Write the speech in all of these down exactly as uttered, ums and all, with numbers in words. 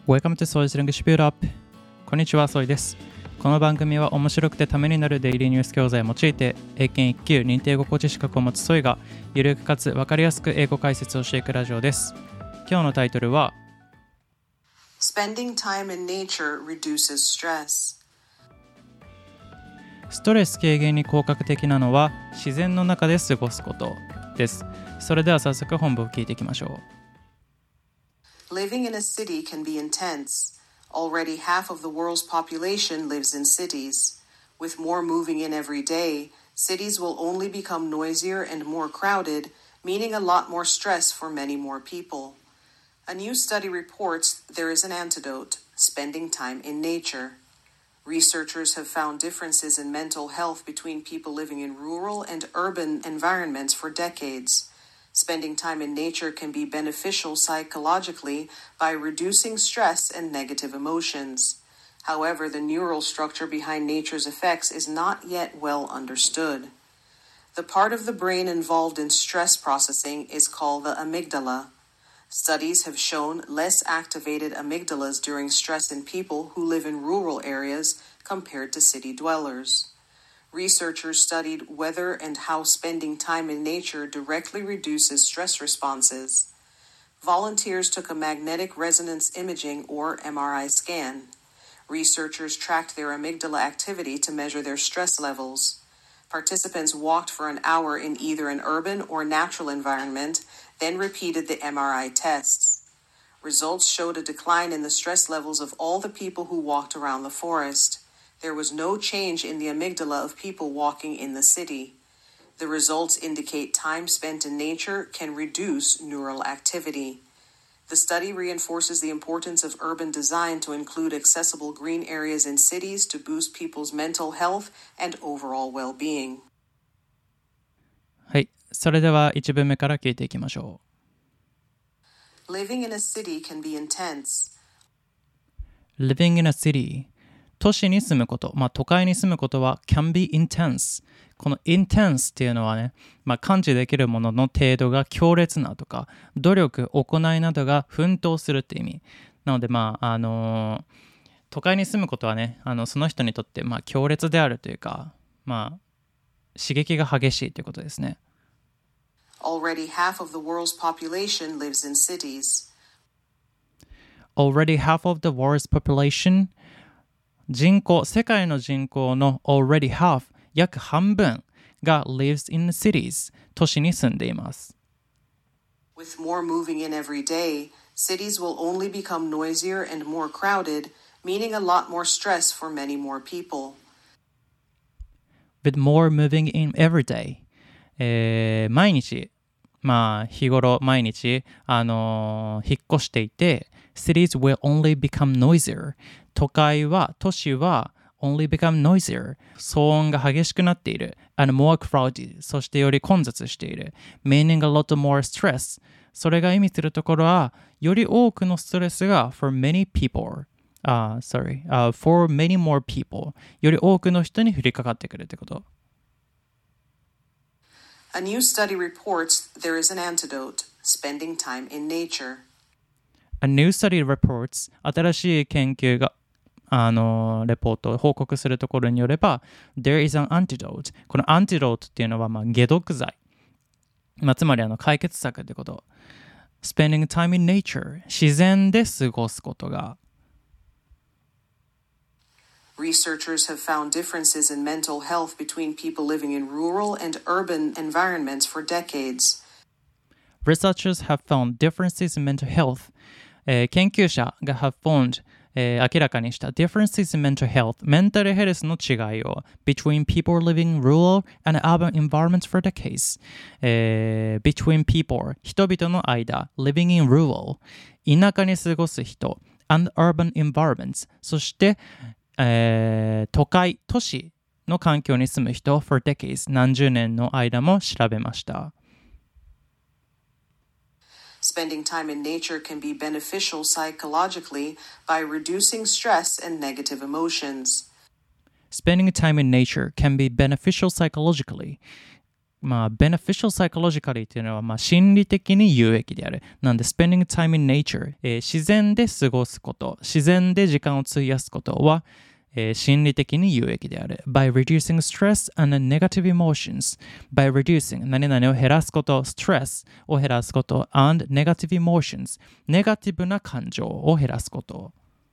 Welcome to Soy's English Build Up。こんにちは、ソイです。この番組は面白くてためになるデイリーニュース教材を用いて、英検いっ級認定語コーチ資格を持つソイが、ゆるくかつ分かりやすく英語解説をしていくラジオです。今日のタイトルは、 Spending time in nature reduces stress。 ストレス軽減に効果的なのは自然の中で過ごすことです。それでは早速本文を聞いていきましょう。 Living in a city can be intense. Already half of the world's population lives in cities. With more moving in every day, cities will only become noisier and more crowded, meaning a lot more stress for many more people. A new study reports there is an antidote: spending time in nature. Researchers have found differences in mental health between people living in rural and urban environments for decades.Spending time in nature can be beneficial psychologically by reducing stress and negative emotions. However, the neural structure behind nature's effects is not yet well understood. The part of the brain involved in stress processing is called the amygdala. Studies have shown less activated amygdalas during stress in people who live in rural areas compared to city dwellers.Researchers studied whether and how spending time in nature directly reduces stress responses. Volunteers took a magnetic resonance imaging or M R I scan. Researchers tracked their amygdala activity to measure their stress levels. Participants walked for an hour in either an urban or natural environment, then repeated the M R I tests. Results showed a decline in the stress levels of all the people who walked around the forest.There was no change in the amygdala of people walking in the city. The results indicate time spent in nature can reduce neural activity. The study reinforces the importance of urban design to include accessible green areas in cities to boost people's mental health and overall well-being. はい、それではいち文目から聞いていきましょう。Living in a city can be intense. Living in a city都市に住むこと、まあ、都会に住むことは can be intense。この intense っていうのはね、まあ、感知できるものの程度が強烈なとか、努力、行いなどが奮闘するって意味。なので、まあ、あのー、都会に住むことはね、あのその人にとって、まあ、強烈であるというか、まあ、刺激が激しいということですね。 Already half of the world's population lives in cities. Already half of the world's population人口、世界の人口の already half、約半分が lives in cities、都市に住んでいます。 With more moving in every day, cities will only become noisier and more crowded, meaning a lot more stress for many more people. With more moving in every day、えー、毎日、まあ日頃毎日、あのー、引っ越していて、cities will only become noisier。都会は、都市は only become noisier 騒音が激しくなっている and more crowded そしてより混雑している meaning a lot more stress それが意味するところはより多くのストレスが for many people uh, sorry、uh, for many more people より多くの人に降りかかってくるってこと。 A new study reports there is an antidote: spending time in nature. A new study reports 新しい研究があのレポートを報告するところによれば There is an antidote この antidote っていうのはまあ解毒剤、まあ、つまりあの解決策ってこと。 Spending time in nature 自然で過ごすことが。 Researchers have found differences in mental health between people living in rural and urban environments for decades. Researchers have found differences in mental health、えー、研究者が have foundえー、明らかにした differences in mental health メンタルヘルスの違いを between people living in rural and urban environments for decades、えー、between people 人々の間 living in rural 田舎に過ごす人 and urban environments そして、えー、都会都市の環境に住む人 for decades 何十年の間も調べました。 Spending time in nature can be beneficial psychologically by reducing stress and negative emotions. Spending time in nature can be beneficial psychologically. まあ、beneficial psychologically っていうのは、まあ、心理的に有益である。なんで、spending time in nature、えー、自然で過ごすこと、自然で時間を費やすことは、えー、心理的に有益である。by reducing stress and negative emotions by reducing 何々を減らすこと、stress を減らすこと and negative emotions ネガティブな感情を減らすこと。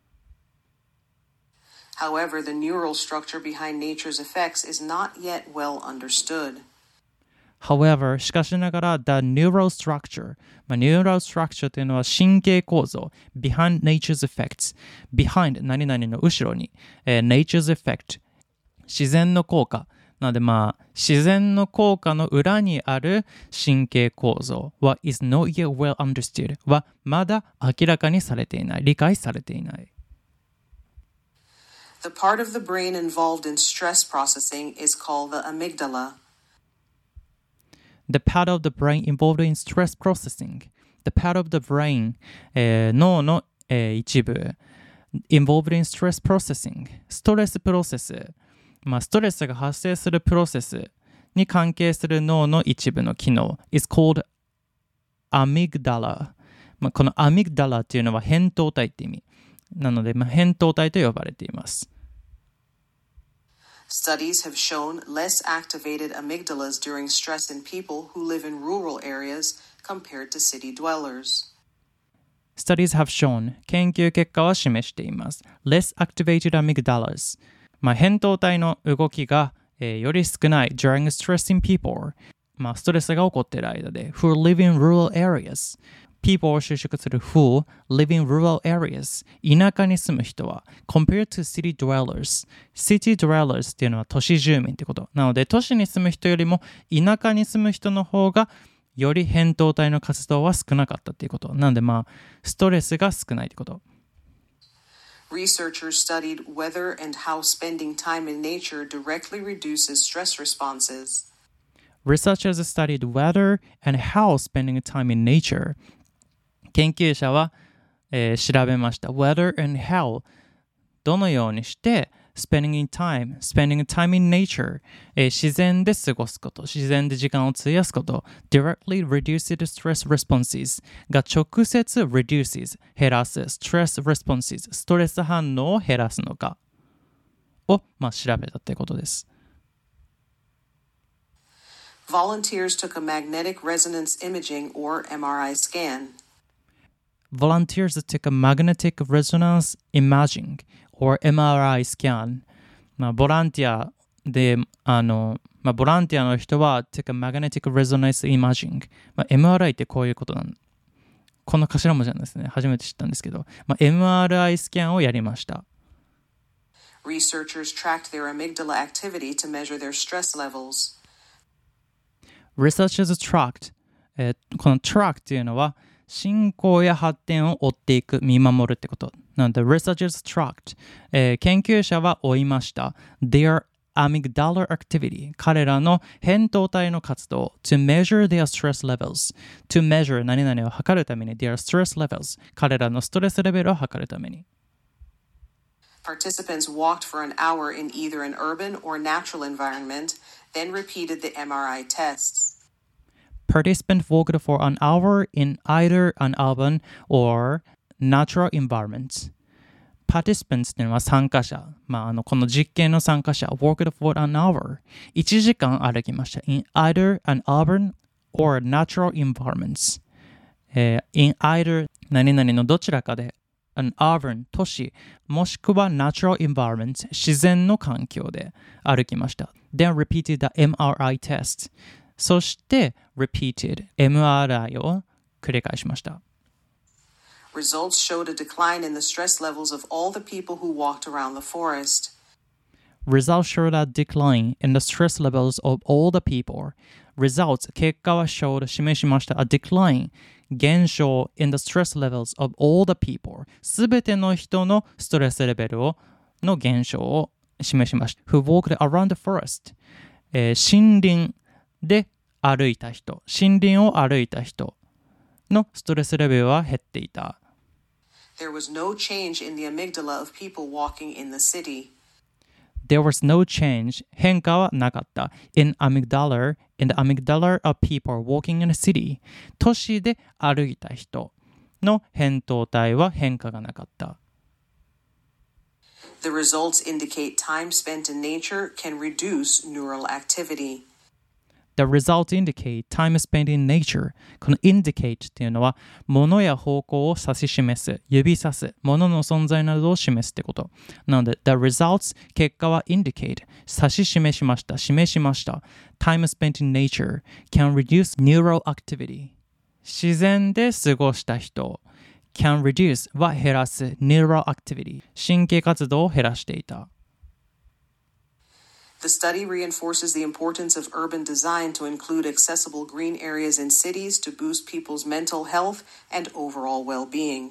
However, the neural structure behind nature's effects is not yet well understood. However, しかしながら the neural structure、まあ、neural structure というのは神経構造 behind nature's effects behind 何々の後ろに、えー、nature's effect 自然の効果なのでまあ自然の効果の裏にある神経構造は is not yet well understood はまだ明らかにされていない理解されていない。 The part of the brain involved in stress processing is called the amygdala.The part of the brain involved in stress processing. The part of the brain、えー、脳の、えー、一部 involved in stress processing. ストレスプロセス。まあ、ストレスが発生するプロセスに関係する脳の一部の機能 is called amygdala。まあ、この amygdala っていうのは扁桃体って意味。なので、まあ、扁桃体と呼ばれています。 Studies have shown less activated amygdalas during stress in people who live in rural areas compared to city dwellers. Studies have shown 研究結果は示しています。less activated amygdalas、まあ、扁桃体の動きが、えー、より少ない during stress in people、まあ、ストレスが起こっている間で who live in rural areas people を修飾する who live in rural areas 田舎に住む人は compared to city dwellers city dwellers っていうのは都市住民ってことなので都市に住む人よりも田舎に住む人の方がより扁桃体の活動は少なかったっていうことなのでまあストレスが少ないってこと。 Researchers studied whether and how spending time in nature directly reduces stress responses. Researchers studied whether and how spending time in nature研究者は、えー、調べました。Whether and how どのようにして spending in time, spending time in nature、えー、自然で過ごすこと、自然で時間を費やすこと directly reduces stress responses が直接 reduces 減らす stress responses ストレス反応を減らすのかを、まあ、調べたということです。 Volunteers took a magnetic resonance imaging or M R I scan.Volunteers took a magnetic resonance imaging or エムアールアイ scan、まあ、ボランティアであの、まあ、ボランティアの人は took a magnetic resonance imaging、まあ、エムアールアイ ってこういうことなんこの頭文字なんですね初めて知ったんですけど、まあ、エムアールアイ スキャンをやりました。 Researchers tracked their amygdala activity to measure their stress levels. Researchers tracked、えー、この track っていうのは進行や発展を追っていく、見守るってこと。なので、researchers tracked、えー、研究者は追いました。their amygdala activity、彼らの扁桃体の活動。to measure their stress levels。to measure 何々を測るために their stress levels。彼らのストレスレベルを測るために。 Participants walked for an hour in either an urban or natural environment, then repeated the M R I tests.Participants walked for an hour in either an urban or natural environment. Participants っていうのは参加者。まあ、あの、この実験の参加者。walked for an hour. いちじかん歩きました。in either an urban or natural environments. えー、in either 何々のどちらかで an urban 都市もしくは natural environment 自然の環境で歩きました。Then repeated the M R I test.そして repeated エムアールアイ を繰り返しました。 Results showed a decline in the stress levels of all the people who walked around the forest. Results showed a decline in the stress levels of all the people. Results 結果は showed 示しました。a decline 減少 in the stress levels of all the people すべての人のストレスレベルをの減少を示しました。Who walked around the forest、えー、森林で歩いた人、森林を歩いた人のストレスレベルは減っていた。 There was no change in the amygdala of people walking in the city. There was no change. 変化はなかった。In amygdala, in the amygdala of people walking in a city. 都市で歩いた人の扁桃体は変化がなかった。 The results indicate time spent in nature can reduce neural activity. The results indicate time spent in nature. この indicate っていうのは物や方向を指し示す、指さす、物の存在などを示すってこと。なので the results 結果は indicate 指し示しました、示しました。Time spent in nature can reduce neural activity. 自然で過ごした人。can reduce は減らす neural activity 神経活動を減らしていた。 The study reinforces the importance of urban design to include accessible green areas in cities to boost people's mental health and overall well-being.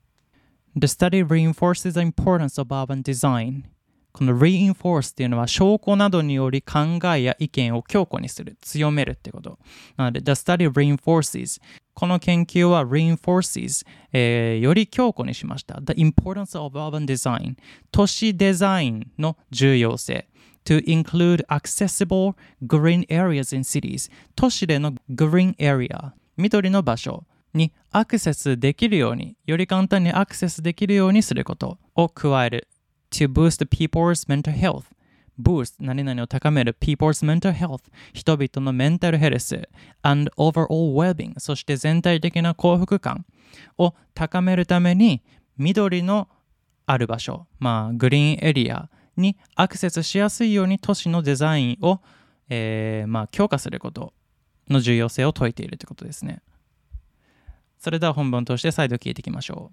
The study reinforces the importance of urban design. この reinforce っていうのは証拠などにより考えや意見を強固にする、強めるってこと。なので The study reinforces この研究は reinforces、えー、より強固にしました。The importance of urban design 都市デザインの重要性。To include accessible green areas in cities 都市での green area 緑の場所にアクセスできるようにより簡単にアクセスできるようにすることを加える To boost people's mental health boost 何々を高める people's mental health 人々のメンタルヘルス and overall well-being そして全体的な幸福感を高めるために緑のある場所まあグリーンエリアにアクセスしやすいように都市のデザインを、えーまあ、強化することの重要性を説いているということですね。それでは本文として再度聞いていきましょう。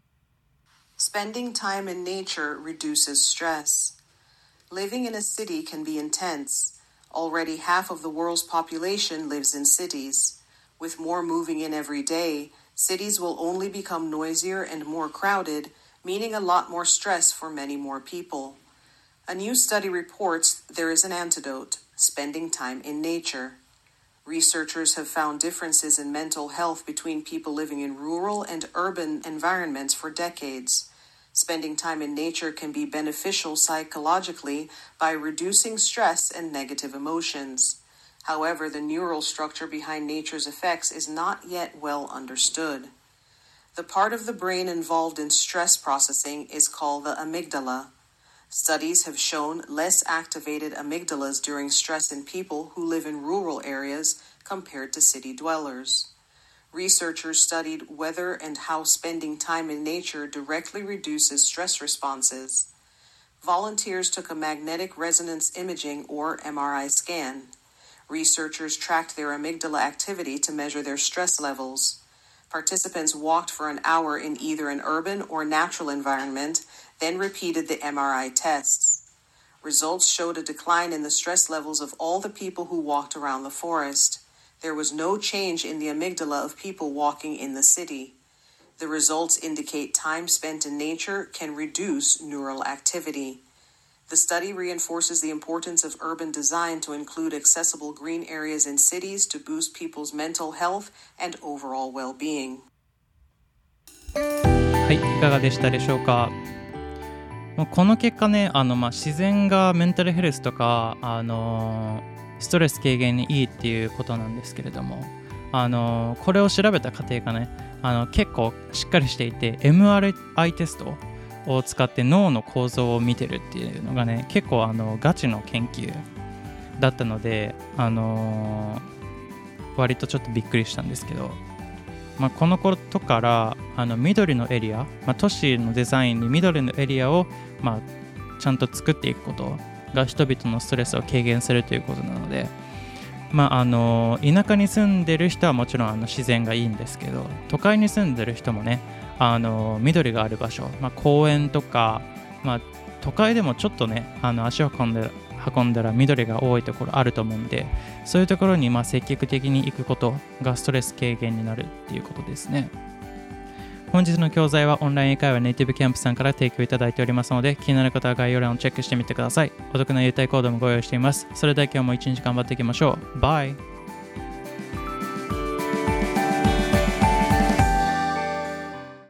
Spending time in nature reduces stress. Living in a city can be intense. Already half of the world's population lives in cities. With more moving in every day, cities will only become noisier and more crowded, meaning a lot more stress for many more people.A new study reports there is an antidote, spending time in nature. Researchers have found differences in mental health between people living in rural and urban environments for decades. Spending time in nature can be beneficial psychologically by reducing stress and negative emotions. However, the neural structure behind nature's effects is not yet well understood. The part of the brain involved in stress processing is called the amygdala.Studies have shown less activated amygdalas during stress in people who live in rural areas compared to city dwellers. Researchers studied whether and how spending time in nature directly reduces stress responses. Volunteers took a magnetic resonance imaging or M R I scan. Researchers tracked their amygdala activity to measure their stress levels. Participants walked for an hour in either an urban or natural environment,then repeated the M R I tests. Results showed a decline in the stress levels of all the people who walked around the forest. There was no change in the amygdala of people walking in the city. The results indicate time spent in nature can reduce neural activity. The study reinforces the importance of urban design to include accessible green areas in cities to boost people's mental health and overall well-being. はい、いかがでしたでしょうか。この結果ね、あのまあ自然がメンタルヘルスとか、あのー、ストレス軽減にいいっていうことなんですけれども、あのー、これを調べた過程がね、あの結構しっかりしていて エムアールアイ テストを使って脳の構造を見てるっていうのがね、結構あのガチの研究だったので、あのー、割とちょっとびっくりしたんですけど、まあ、このことからあの緑のエリア、まあ、都市のデザインに緑のエリアを、まあ、ちゃんと作っていくことが人々のストレスを軽減するということなので、まあ、あの田舎に住んでる人はもちろんあの自然がいいんですけど、都会に住んでる人もね、あの緑がある場所、まあ、公園とか、まあ、都会でもちょっとねあの足を運んで運んだら緑が多いところあると思うんで、そういうところにまあ積極的に行くことがストレス軽減になるっていうことですね。本日の教材はオンライン英会話ネイティブキャンプさんから提供いただいておりますので、気になる方は概要欄をチェックしてみてください。お得な優待コードもご用意しています。それでは今日も一日頑張っていきましょう。バイ。